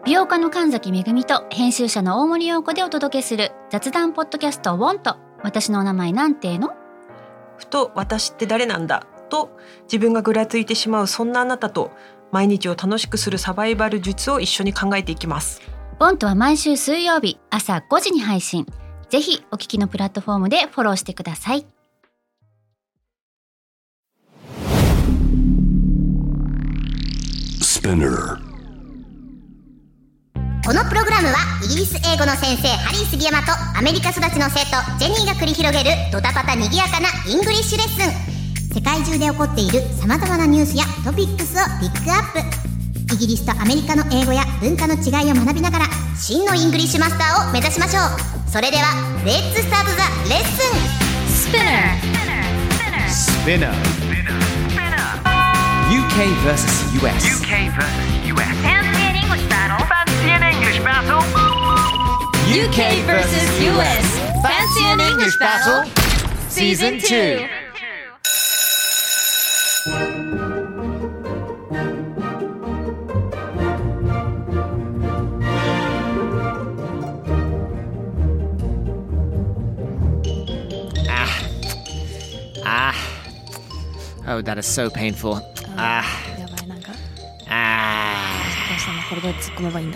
美容家の神崎めぐみと編集者の大森洋子でお届けする雑談ポッドキャストウォンと私のお名前なんての？ ふと私って誰なんだと自分がぐらついてしまうそんなあなたと毎日を楽しくするサバイバル術を一緒に考えていきます。 ウォンとは毎週水曜日朝5時に配信。ぜひお聞きのプラットフォームでフォローしてください。 このプログラムはイギリス英語の先生ハリー杉山とアメリカ育ちの生徒ジェニーが繰り広げるドタパタにぎやかなイングリッシュレッスン。世界中で起こっている様々なニュースやトピックスをピックアップ。イギリスとアメリカの英語や文化の違いを学びながら真のイングリッシュマスターを目指しましょう。それではレッツスタートザレッスン。 Spinner UK vs US Fancy an English battle? Fancy an English battle? UK vs US Fancy an English Battle Season 2 Oh, that is so painful. やばい、なんかどうしたの？これで突っ込めばいいんだ。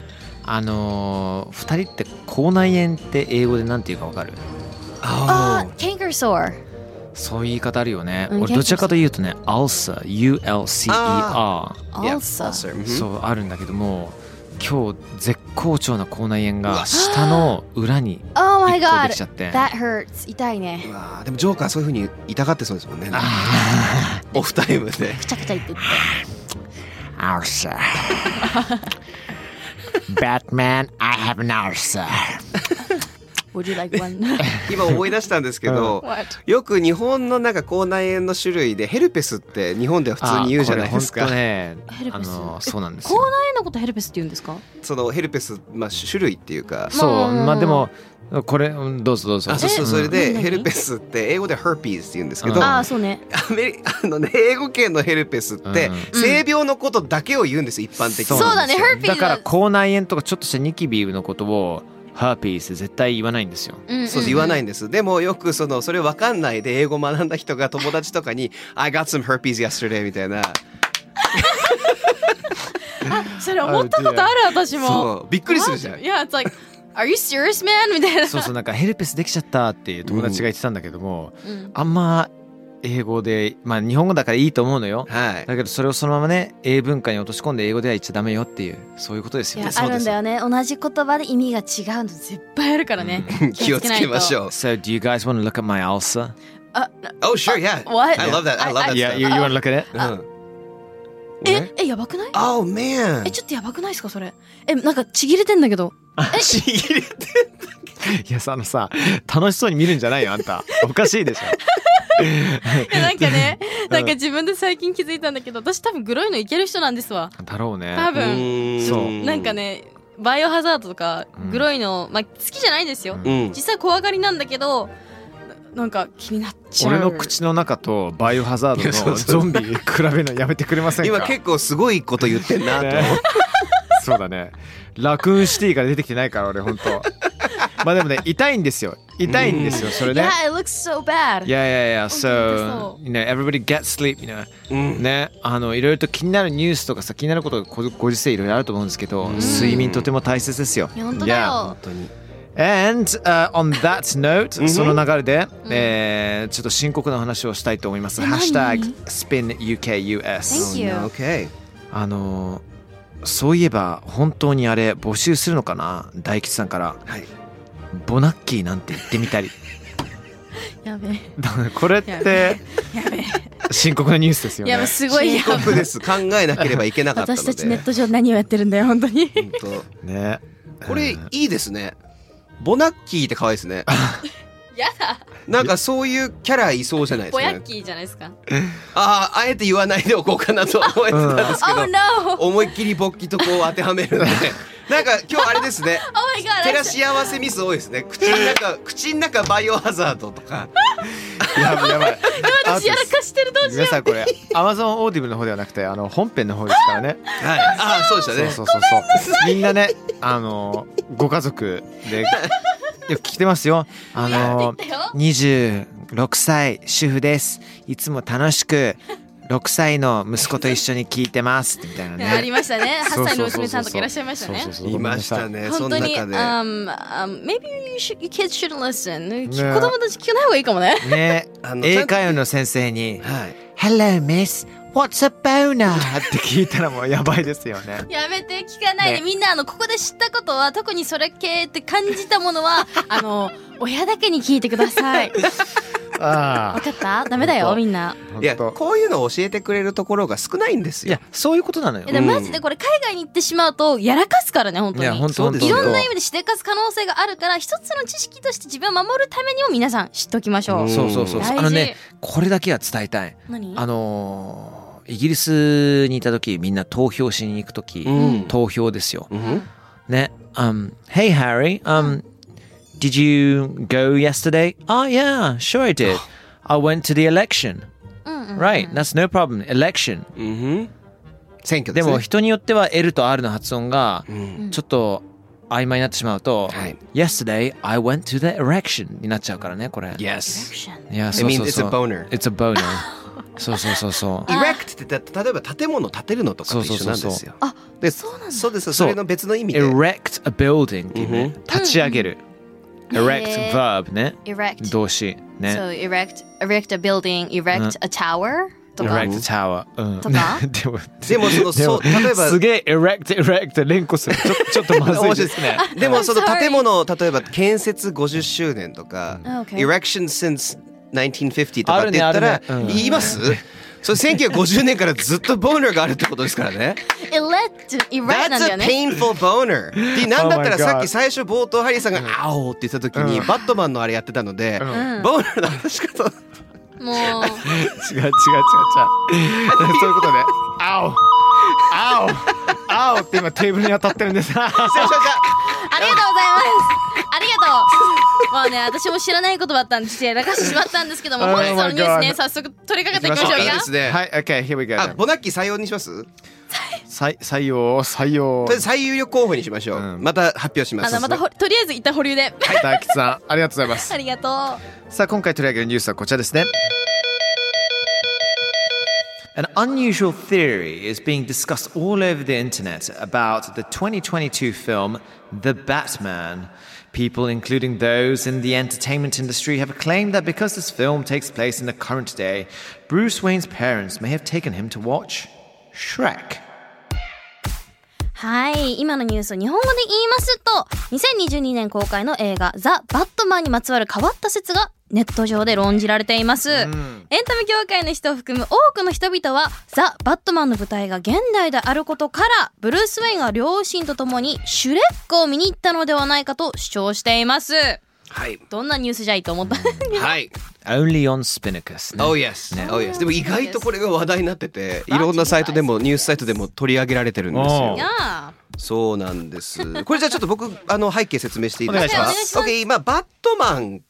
2人って口内炎って英語でなんて言うかわかる？ Canker sore。 そういう言い方あるよね。 うん俺どちらかというとね、ulcer ULCER Ulcer。 そうあるんだけども、今日絶好調な口内炎が下の裏に Oh my 1個 god. できちゃって。 That hurts. 痛いね。 うわでもジョーカーそういう風に痛がってそうですもんね。 あオフタイムでくちゃくちゃ言ってって。 ulcer Batman, I have an ulcer Would you like one? 今思い出したんですけど、よく日本のなんか口内炎の種類でヘルペスって日本では普通に言うじゃないですか。 これ本当ね、 ヘルペスそうなんです口よ。 内炎のことヘルペスって言うんですか？ そのヘルペス、種類っていうか、 そうまあでもこれどうぞどうぞ。 そうそれで何ヘルペスって英語で herpes って言うんですけど、 そうね。 英語圏のヘルペスって性病のことだけを言うんです一般的に。 そうだね、herpes だから口内炎とかちょっとしたニキビのことをハーピース絶対言わないんですよ。 そう言わないんです。でもよくそれ分かんないで英語学んだ人が友達とかに I got some herpes yesterday みたいな。 それ思ったことある私も。 そうびっくりするじゃん。 いや、it's like Are you serious, man? みたいな。 そうなんかヘルペスできちゃったっていう友達が言ってたんだけども、あんま英語で日本語だからいいと思うのよ。 はい。 だけどそれをそのままね英文化に落とし込んで英語では言っちゃダメよっていうそういうことですよね。 いやあるんだよね。同じ言葉で意味が違うの絶対あるからね。 気をつけましょう。 So do you guys want to look at my ulcer? Oh sure, yeah. What? I love that. I love that. Yeah, you want to look at it? やばくない？ Oh man. ちょっとやばくないですかそれ？なんかちぎれてんだけど。 ちぎれていやさ楽しそうに見るんじゃないよあんた。おかしいでしょ。 なんかね、なんか自分で最近気づいたんだけど、私多分グロいのいける人なんですわ。 だろうね。 多分。 そうなんかね、バイオハザードとかグロいの、好きじゃないですよ。 うん実際怖がりなんだけど、なんか気になっちゃう。 俺の口の中とバイオハザードのゾンビ比べるのやめてくれませんか？ 今結構すごいこと言ってんなと。 そうだね。ラクーンシティから出てきてないから俺本当。まあでもね痛いんですよそれね。 Yeah, it looks so bad. Yeah. 本当 So, everybody get sleep, ね、いろいろと気になるニュースとかさ気になることがご時世いろいろあると思うんですけど、睡眠とても大切ですよ。 本当だよ。 本当に。 And、on that note、その流れで、ちょっと深刻な話をしたいと思います。ハッシュタグ SpinUKUS。 Thank you. Okay. そういえば本当にあれ募集するのかな、大吉さんから。 はい。 ボナッキーなんて言ってみたり。 やべえ。 これって深刻なニュースですよね。 やべすごいやばい。 深刻です。考えなければいけなかったので。 私たちネット上何をやってるんだよ本当に。 本当ね。 これいいですね。ボナッキーって可愛いですね。 やだ。 なんかそういうキャラいそうじゃないですか、ね。 ボヤッキーじゃないですか。 あえて言わないでおこうかなと思ってたんですけど、 Oh no! 思いっきり勃起とこう当てはめるんで、なんか今日あれですね。 Oh my god! 照らし合わせミス多いですね。口の中バイオハザードとか。 やばいやばい。 私やらかしてる、どうしよ皆さんこれ Amazon オーディブルの方ではなくて本編の方ですからね。 はい。あ、そうでしたね。 そうみんなねご家族でよく聞いてますよ。26歳主婦です。いつも楽しく6歳の息子と一緒に聞いてますみたいなう。 ね。 ありましたね。8歳の娘さんとかいらっしゃいましたね。 いましたね。そ本当に、 の中で。 maybe you kids should listen. 子供たち聞かない方がいいかもね。 ね、英会話の先生に、 はい。 Hello, Miss. What's a boner? って聞いたらもうやばいですよね。 やめて、聞かないで、 ねみんなここで知ったことは、特にそれ系って感じたものは親だけに聞いてください。 あわかった？ダメだよみんな。 いや、こういうのを教えてくれるところが少ないんですよ。 いや、そういうことなのよ。 でマジでこれ海外に行ってしまうとやらかすからね、本当に。 いや本当そうですいろんな意味でしでかす可能性があるから、一つの知識として自分を守るためにも皆さん知っておきましょう。 そう大事。 ね、これだけは伝えたい。 何？ イギリスにいた時、みんな投票しに行く時、投票ですよ。ね、Hey Harry, did you go yesterday? Oh yeah, sure I did. I went to the election. Right, that's no problem. Election. 選挙でね。 ですも人によっては L と R の発音がちょっと曖昧になってしまうと、Yesterday I went to the election になっちゃうからね、これ。 Yes. いや、 I そう mean, そう it's そう。 a boner. It's a boner. そう。 erect って例えば建物建てるのとかと一緒なんですよ。で、そうです。それの別の意味で。 erect a building っていうね、立ち上げる。erect verb ね。 erect 動詞ね。 So erect a building, erect a tower とか。 erect a tower とか。 でも例えばすげえ erect 連呼する。ちょっとまずいですね。 でもその建物、例えば建設50周年とか、erection since 1950とかって言ったら言います？それ1950年からずっとボーナーがあるってことですからね。 erect なんだよね。 That's a painful boner. で、なんだったらさっき最初冒頭ハリーさんが「青」って言った時にバットマンのあれやってたので、ボーナーの話し方もう違う。そういうことね。青って今テーブルに当たってるんです。 ありがとうございます。ありがとう。まあね、私も知らない言葉だったんでやらかしてしまったんですけども、本日のニュースね、早速取り掛けていきましょうか。 ですね。 はい、OK, here we go. ボナッキー採用にします？ 採用。 とりあえず最有力候補にしましょう。また発表します。 またとりあえず一旦保留で。 大吉さん、ありがとうございます。 ありがとう。 さあ、今回取り上げるニュースはこちらですね。An unusual theory is being discussed all over the internet about the 2022 film The Batman. People, including those in the entertainment industry, have claimed that because this film takes place in the current day, Bruce Wayne's parents may have taken him to watch Shrek. はい、今のニュースを日本語で言いますと、2022年公開の映画ザ・バットマンにまつわる変わった説がネット上で論じられています。エンタメ業界の人を含む多くの人々はザ・バットマンの舞台が現代であることから、ブルース・ウェインが両親と共にシュレックを見に行ったのではないかと主張しています。 はい。 どんなニュースじゃいと思ったはい。 Only on Spinnacus ね。 Oh yes. Oh yes. でも意外とこれが話題になってて、いろんなサイトでもニュースサイトでも取り上げられてるんですよ。そうなんです。これじゃあちょっと僕背景説明していいですか？ お願いします。 OK、今バットマンって、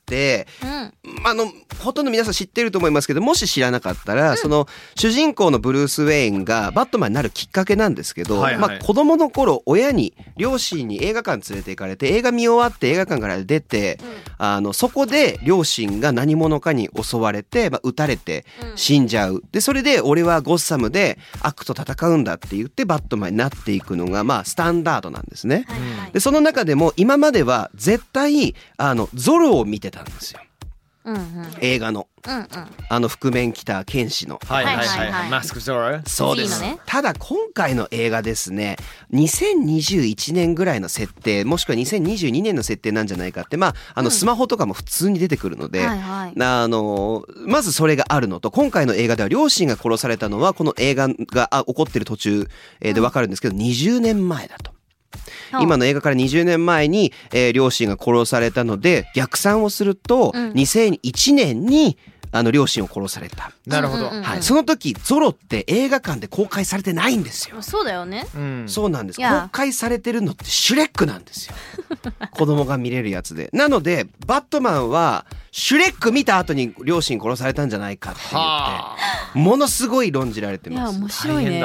ほとんど皆さん知ってると思いますけど、もし知らなかったら、その主人公のブルース・ウェインがバットマンになるきっかけなんですけど、子供の頃両親に映画館連れて行かれて、映画見終わって映画館から出て、そこで両親が何者かに襲われて、撃たれて死んじゃう。でそれで俺はゴッサムで悪と戦うんだって言ってバットマンになっていくのがスタンダードなんですね。でその中でも今までは絶対ゾロを見てたんですよ。映画の、覆面着た剣士の、 マスクゾロ。 そうです。ただ今回の映画ですね、2021年ぐらいの設定、もしくは2022年の設定なんじゃないかって、スマホとかも普通に出てくるので、まずそれがあるのと、今回の映画では両親が殺されたのはこの映画が起こってる途中で分かるんですけど、20年前だと。今の映画から20年前に、両親が殺されたので逆算をすると、2001年に両親を殺された。 なるほど。 はい、その時ゾロって映画館で公開されてないんですよ。 そうだよね。 そうなんです。 いや公開されてるのってシュレックなんですよ。子供が見れるやつで。なのでバットマンはシュレック見た後に両親殺されたんじゃないかって言ってものすごい論じられていやます。 面白いね。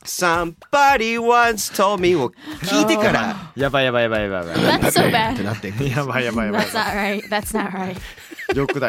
Somebody once told me を聞いてからやばい。 That's so っ bad. てなっていく。 やばい。 That's not right. That's not right. よくない。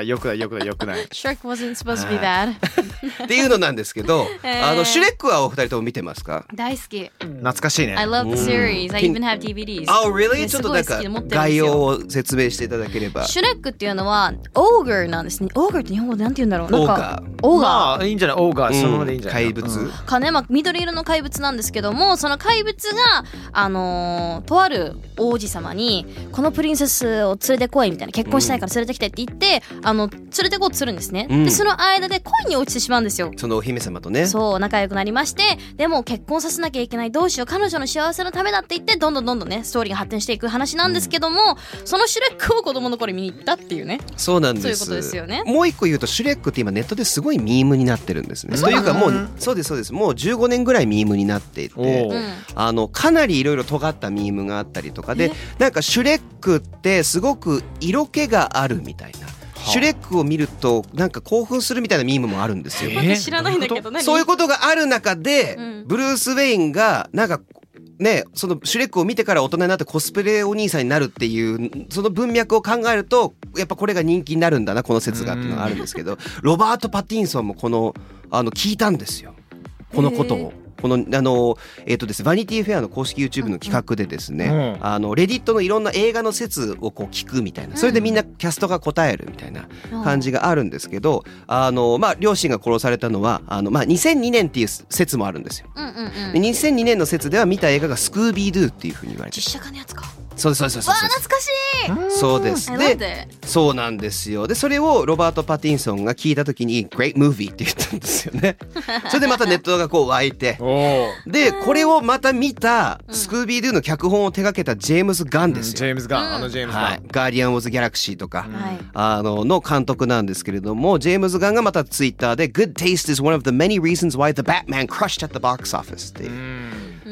Shrek wasn't supposed to be bad. っていうのなんですけど、シュレックはお二人とも見てますか？ 大好き。 懐かしいね。 I love the series. I even have DVDs. Oh, really? ねちょっとなんかすごい好きで持ってるんですよ概要を説明していただければ。 シュレックっていうのはオーガーなんですね。オーガーって日本語でなんて言うんだろう。なんかオーガー。 まあいいんじゃない。オーガーそのままでいいんじゃない。 怪物。 かね、まあ、緑色の怪物なんですけども、その怪物がとある王子様にこのプリンセスを連れてこいみたいな、結婚したいから連れてきてって言って連れてこうとするんですね。でその間で恋に落ちてしまうんですよ。 そのお姫様とね。 そう仲良くなりまして、でも結婚させなきゃいけない、どうしよう、彼女の幸せのためだって言ってどんどんねストーリーが発展していく話なんですけども、そのシュレックを子供の頃見に行ったっていうね。 そうなんです。 そういうことですよね。 もう一個言うとシュレックって今ネットですごいミームになってるんですね。というかもうそうですもう15年ぐらいミームになっていて、かなりいろいろ尖ったミームがあったりとかで、なんかシュレックってすごく色気があるみたいな。シュレックを見るとなんか興奮するみたいなミームもあるんですよ。 知らないんだけど何？ そういうことがある中で、ブルース・ウェインがなんかね、そのシュレックを見てから大人になってコスプレお兄さんになるっていうその文脈を考えるとやっぱこれが人気になるんだな、この説がっていうのがあるんですけど、ロバート・パティンソンも聞いたんですよ、このことを。このですバニティフェアの公式 YouTube の企画でですね、レディットのいろんな映画の説をこう聞くみたいな、それでみんなキャストが答えるみたいな感じがあるんですけど、両親が殺されたのは2002年っていう説もあるんですよ。で2002年の説では見た映画がスクービードゥっていうふうに言われてる。 実写化のやつか。 そうです。 わあ懐かしい。 そうです。でそうなんですよ。でそれをロバート・パティンソンが聞いた時に Great movie って言ったんですよね。それでまたネットがこう湧いて、でこれをまた見たスクービードゥの脚本を手掛けたジェームズ・ガンですよ。 ジェームズ・ガン、ジェームズ・ガン、 ガーディアン・オブ・ザ・ギャラクシーとか、の監督なんですけれども、ジェームズ・ガンがまたツイッターで Good taste is one of the many reasons why the Batman crushed at the box office っていう、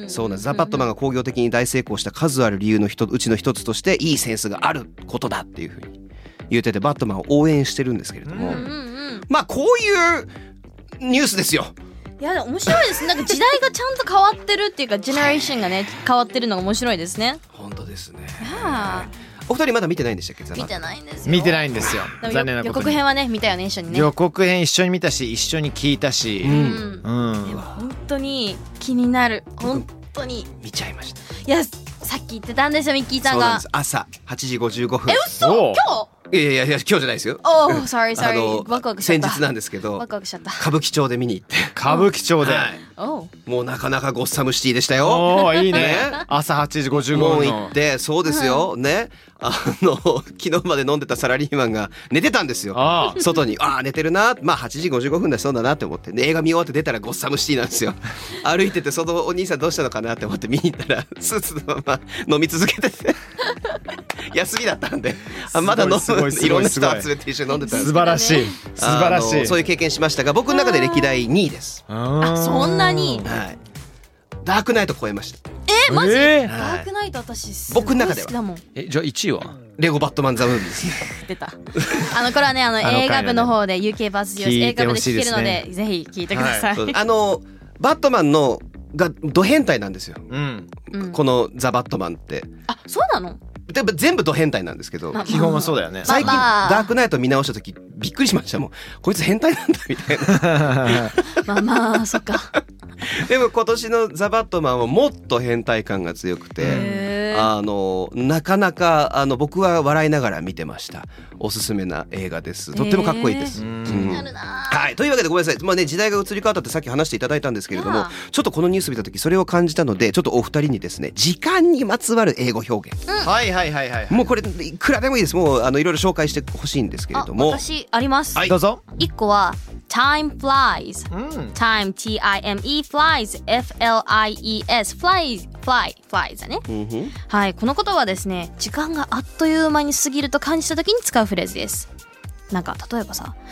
そうなんです。ザ・バットマンが興行的に大成功した数ある理由のうちの一つとしていいセンスがあることだっていうふうに言ってて、バットマンを応援してるんですけれども、まあこういうニュースですよ。 いや面白いですね。なんか時代がちゃんと変わってるっていうか、ジェネレーションがね変わってるのが面白いですね。 本当ですね。お二人まだ見てないんでしたっけ？ 見てないんですよ。 見てないんですよ。残念なことに。 予告編はね見たよね、一緒にね。 予告編一緒に見たし、一緒に聞いたし、 本当に気になる。本当に見ちゃいました。 いやさっき言ってたんですよ、ミッキーさんが。 そうなんです。朝8時55分。 嘘？今日？ いや今日じゃないですよ。 sorry ワクワクしちゃった。 先日なんですけど、 ワクワクしちゃった。 歌舞伎町で見に行って。 歌舞伎町で、 もうなかなかゴッサムシティでしたよ。 いいね。朝8時55分もう行って、そうですよね。昨日まで飲んでたサラリーマンが寝てたんですよ。外に寝てるな、まあ8時55分だしそうだなって思って、映画見終わって出たらゴッサムシティなんですよ。歩いててそのお兄さんどうしたのかなって思って見に行ったらスーツのまま飲み続けてて休みだったんで、まだいろんな人集めて一緒に飲んでたんです。 素晴らしい素晴らしい。 そういう経験しましたが、僕の中で歴代2位です。 そんなに？ ダークナイト超えました。 マジ？ダークナイト私僕の中では。 じゃあ 1位はレゴバットマンザムービーですね。 出た。これはね映画部の方で UK バース US 映画部で聞けるので、ぜひ聞いてください。 バットマンのがド変態なんですよ。このザ・バットマンって。 そうなの？ 全部ド変態なんですけど、 基本はそうだよね。 最近ダークナイト見直した時びっくりしましたもん。こいつ変態なんだみたいな。 まあそっか。 でも今年のザ・バットマンはもっと変態感が強くて、なかなか僕は笑いながら見てました。おすすめな映画です。とってもかっこいいです。はい、というわけでごめんなさい、時代が移り変わったってさっき話していただいたんですけれども、ちょっとこのニュース見た時それを感じたので、ちょっとお二人にですね、時間にまつわる英語表現、もうこれいくらでもいいです。もういろいろ紹介してほしいんですけれども。 私あります。 どうぞ。 1個は Time flies、Time T-I-M-E flies F-L-I-E-S flies だね。はい、この言葉はですね、時間があっという間に過ぎると感じた時に使うフレーズです。 なんか例えばさ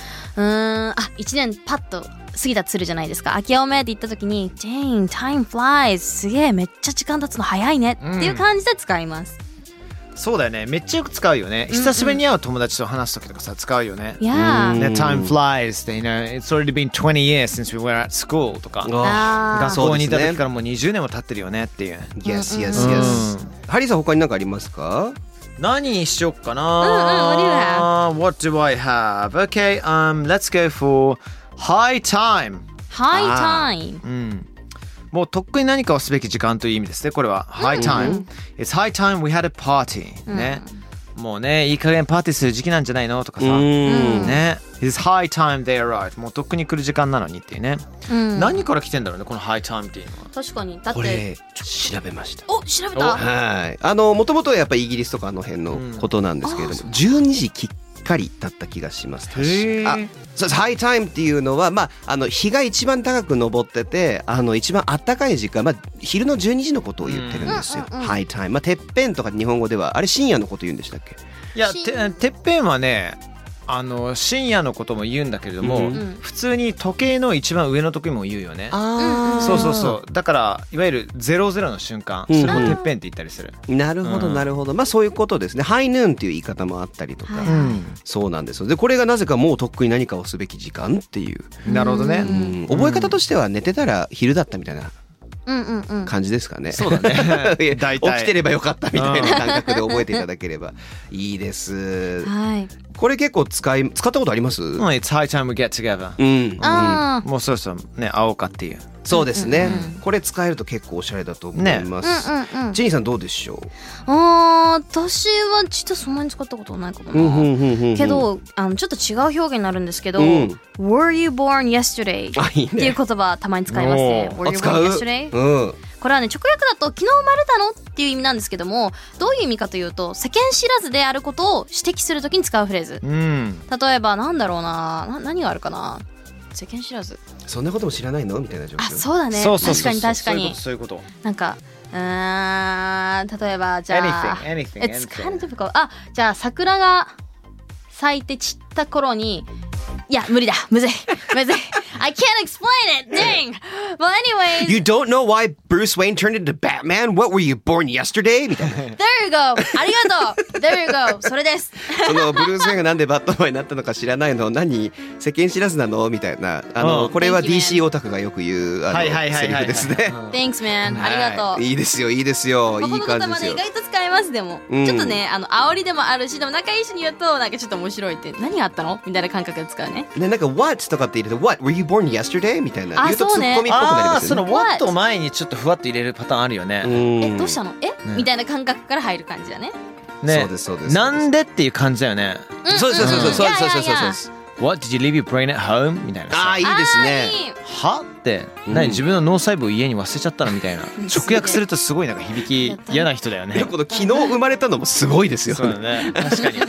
1年パッと過ぎたとするじゃないですか。明けおめって言った時に Dang, time flies すげえめっちゃ時間経つの早いねっていう感じで使います、 そうだよね。めっちゃよく使うよね。久しぶりに会う友達と話す時とかさ使うよね。 Yeah. Time flies って you know, it's already been 20 years since we were at school とか。学校にいた時からもう20年も経ってるよねっていう。 Yes, yes, yes. ハリーさん他に何かありますか？ 何にしよっかな。What do I have? Okay, let's go for high time. High time. もうとっくに何かをすべき時間という意味ですね。これは high time. It's high time we had a party. ね。もうね、いい加減パーティーする時期なんじゃないのとかさ。ね。It's high time they arrived. もうとっくに来る時間なのにっていうね。何から来てんだろうね、この high time っていうのは。 確かに。だってこれ調べました。 お、調べた。 はい。もともとはやっぱりイギリスとかあの辺のことなんですけれども、12時きっかりだった気がします。そうです。ハイタイムっていうのは、日が一番高く昇ってて、一番暖かい時間、昼の12時のことを言ってるんですよ。ハイタイム。てっぺんとか日本語では、あれ深夜のこと言うんでしたっけ？ いや、てっぺんはね、深夜のことも言うんだけれども、普通に時計の一番上の時も言うよね。そうそうそう。だからいわゆる00の瞬間、それもてっぺんって言ったりする。 なるほどなるほど。そういうことですね。ハイヌーンっていう言い方もあったりとか、そうなんですよ。でこれがなぜかもうとっくに何かをすべき時間っていう。 なるほどね。 覚え方としては寝てたら昼だったみたいな感じですかね。 そうだね。 起きてればよかったみたいな感覚で覚えていただければいいです。 はい。 これ結構使ったことあります ？It's high time we get together。もうそろそろね会おうかっていう。 そうですね。これ使えると結構おしゃれだと思います。ジェニーさんどうでしょう？ 私は実はそんなに使ったことないかもな。けどちょっと違う表現になるんですけど、Were you born yesterday っていう言葉たまに使いますね。Were you born yesterday？これはね直訳だと昨日生まれたのっていう意味なんですけども、どういう意味かというと世間知らずであることを指摘するときに使うフレーズ。例えばなんだろうな、何があるかな。世間知らず。 そんなことも知らないのみたいな状況。 そうだね。確かに確かに。 そういうこと。 なんか例えばじゃあ anything It's kind of difficult。じゃあ桜が咲いて散った頃に、いや無理だ、むずいI can't explain it. Dang. Well, anyways. You don't know why Bruce Wayne turned into Batman? What were you born yesterday? みたいな。 There you go. ありがとう。There you go. それです。 そのブルース・ウェインがなんでバットマンになったのか知らないの？何世間知らずなの？みたいな。これは DC オタクがよく言うセリフですね。 Thanks, man. ありがとう。 いいですよ、いいですよ。いい感じですよ。 意外と使えますでも。ちょっとね、煽りでもあるし、でも仲いい人に言うとなんかちょっと面白いって、何があったのみたいな感覚で使うね。 ね、なんか What とかって入れて What were you born yesterday? みたいな言うとツッコミっぽくなりますよね。 その What を前にちょっとふわっと入れるパターンあるよね。 どうしたの？みたいな感覚から入る感じだね。 そうですそうです。 なんでっていう感じだよね。 そうです。 What did you leave your brain at home? みたいな。 いいですね。 はって自分の脳細胞を家に忘れちゃったのみたいな。直訳するとすごいなんか響き嫌な人だよね。 この昨日生まれたのもすごいですよね。 そうだね。確かに。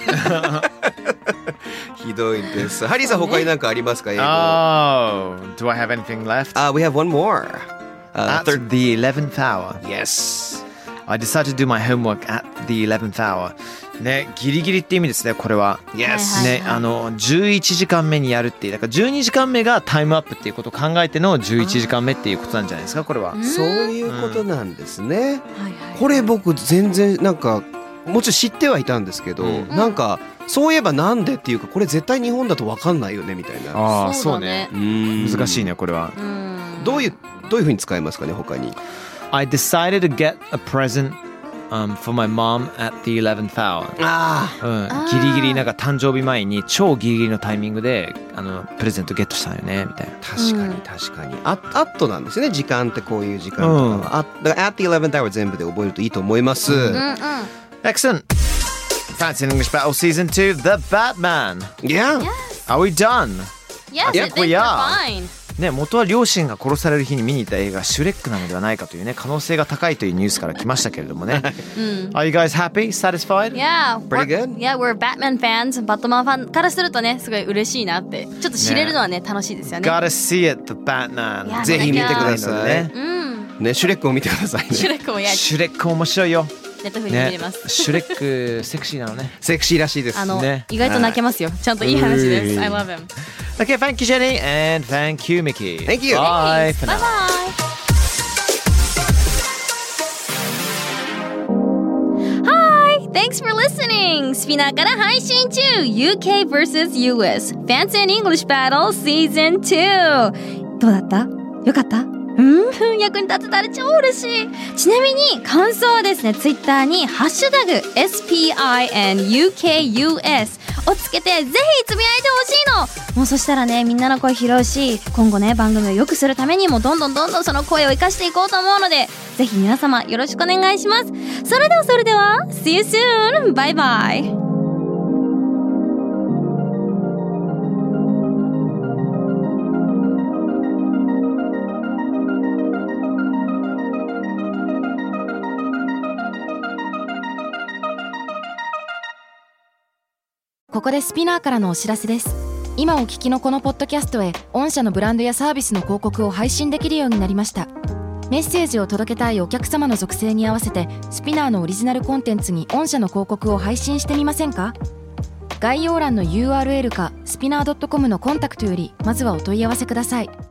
ひどいです。ハリーさん他に何かありますか？英語。 Do I have anything left? We have one more. At the 11th hour. Yes. I decided to do my homework at the 11th hour. ね、ギリギリって意味ですね、これは。 Yes. ね、11時間目にやるっていう、だから12時間目がタイムアップっていうことを考えての11時間目っていうことなんじゃないですか、これは。 そういうことなんですね。これ僕全然なんかもちろん知ってはいたんですけど、なんかそういえばなんでっていうか、これ絶対日本だと分かんないよねみたいな。 そうね。難しいね、これは。 どういう風に使えますかね、他に。 I decided to get a present、for my mom at the 11th hour. ギリギリなんか誕生日前に超ギリギリのタイミングでプレゼントゲットしたよねみたいな。 確かに。at なんですね。時間ってこういう時間とかは。だから at the 11th hour 全部で覚えるといいと思います。 Excellent. Fancy English Battle Season 2, The Batman. Yeah. Are we done? Yes, I think we're fine. ね、元は両親が殺される日に見に行った映画シュレックなのではないかというね、可能性が高いというニュースから来ましたけれどもね。Are you guys happy? Satisfied? Yeah. Pretty good? Yeah, we're Batman fans. バットマンファンからするとね、すごい嬉しいなって。ちょっと知れるのはね、楽しいですよね。 Gotta see it, The Batman. ぜひ見てください。ね、シュレックを見てくださいね。 シュレックもやる。 シュレック面白いよ。 ネットフリで見れます、 ね、シュレックセクシーなのね。 セクシーらしいです。 ね、 意外と泣けますよ。ちゃんといい話です。I love him. Okay, thank you, Jenny, and thank you, Mickey. Thank you. Bye for now. Bye bye.Thanks for listening! スピナーから配信中 UK vs US Fancy and English Battle Season 2。 どうだった？よかった？役に立てたら超嬉しい。ちなみに感想はですね、ツイッターにハッシュタグ SPINUKUS をつけてぜひつぶやいてほしいの。もうそしたらね、みんなの声拾うし、今後ね番組を良くするためにもどんどんその声を生かしていこうと思うので、ぜひ皆様よろしくお願いします。それでは See you soon! バイバイ。 ここでスピナーからのお知らせです。今お聞きのこのポッドキャストへ御社のブランドやサービスの広告を配信できるようになりました。メッセージを届けたいお客様の属性に合わせてスピナーのオリジナルコンテンツに御社の広告を配信してみませんか？概要欄の URL かスピナー .com のコンタクトよりまずはお問い合わせください。